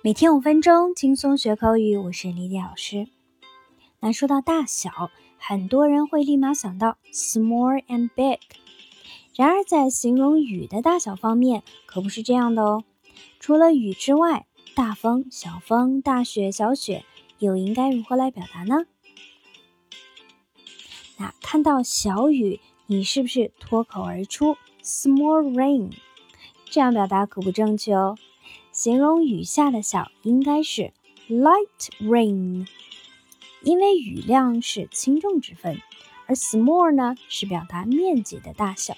每天5分钟，轻松学口语。我是李丽老师。那说到大小，很多人会立马想到 small and big。然而在形容雨的大小方面，可不是这样的哦。除了雨之外，大风、小风、大雪、小雪，又应该如何来表达呢？那看到小雨，你是不是脱口而出 small rain？ 这样表达可不正确哦。形容雨下的小应该是 light rain， 因为雨量是轻重之分，而 small 呢是表达面积的大小。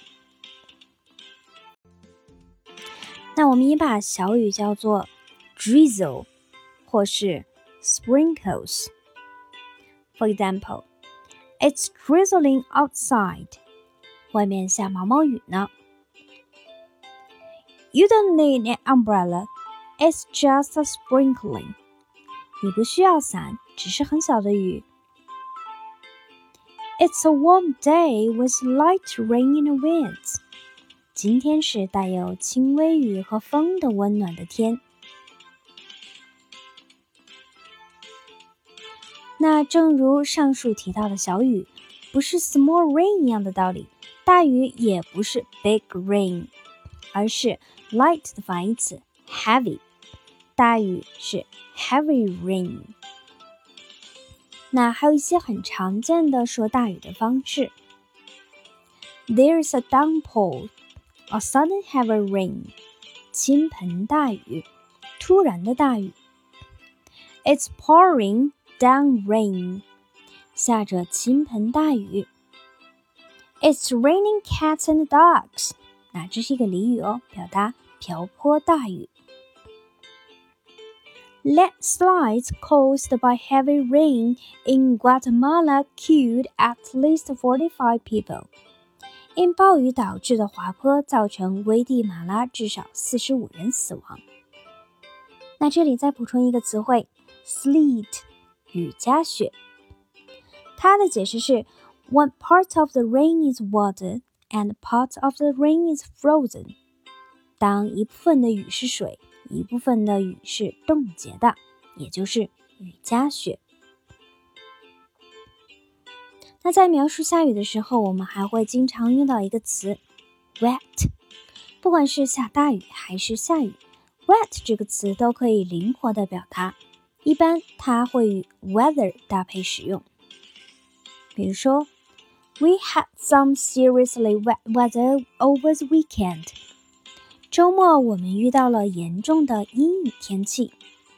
那我们也把小雨叫做 drizzle 或是 sprinkles。 For example, it's drizzling outside. 外面下毛毛雨呢。You don't need an umbrella.It's just a sprinkling. 你不需要伞，只是很小的雨。It's a warm day with light rain and winds. 今天是带有轻微雨和风的温暖的天。那正如上述提到的小雨，不是 small rain 一样的道理，大雨也不是 big rain， 而是 light 的反义词 heavy。大雨是 heavy rain。 那还有一些很常见的说大雨的方式。 There's a downpour, a sudden heavy rain. 倾盆大雨，突然的大雨。 It's pouring down rain. 下着倾盆大雨。 It's raining cats and dogs. 那这是一个俚语哦，表达瓢泼大雨。Landslides caused by heavy rain in Guatemala killed at least 45 people. 因暴雨导致的滑坡造成危地马拉至少45人死亡。那这里再补充一个词汇 sleet， 雨夹雪。它的解释是 One part of the rain is water and part of the rain is frozen. 当一部分的雨是水，一部分的雨是冻结的，也就是雨夹雪。那在描述下雨的时候，我们还会经常用到一个词 wet。 不管是下大雨还是下雨， wet 这个词都可以灵活的表达，一般它会与 weather 搭配使用。比如说 We had some seriously wet weather over the weekend。周末我们遇到了严重的阴雨天气。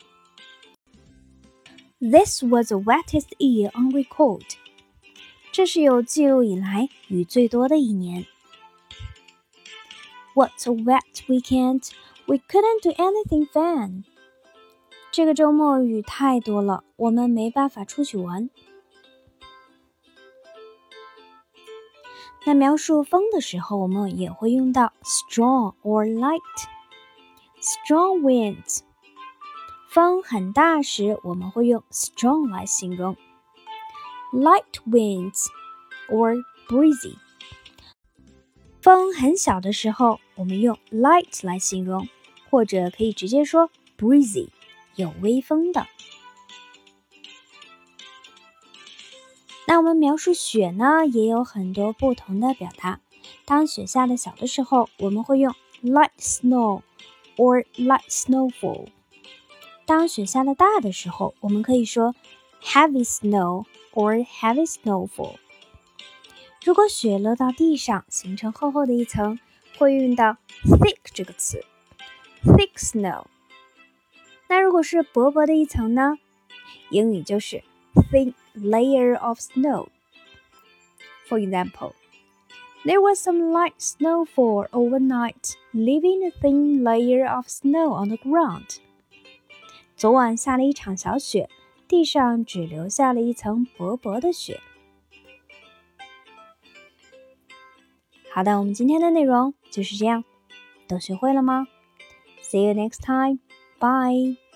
This was the wettest year on record. 这是有记录以来雨最多的一年。 What a wet weekend. We couldn't do anything fun. 这个周末雨太多了，我们没办法出去玩。那描述风的时候，我们也会用到 strong or light。 Strong winds， 风很大时，我们会用 strong 来形容。 Light winds or breezy， 风很小的时候，我们用 light 来形容，或者可以直接说 breezy， 有微风的。那我们描述雪呢，也有很多不同的表达。当雪下的小的时候，我们会用 light snow or light snowfall。 当雪下的大的时候，我们可以说 heavy snow or heavy snowfall。 如果雪落到地上，形成厚厚的一层，会用到 thick 这个词 thick snow。 那如果是薄薄的一层呢，英语就是 thin layer of snow. For example, there was some light snowfall overnight, leaving a thin layer of snow on the ground. 昨晚下了一场小雪，地上只留下了一层薄薄的雪。好的，我们今天的内容就是这样，都学会了吗？ See you next time. Bye.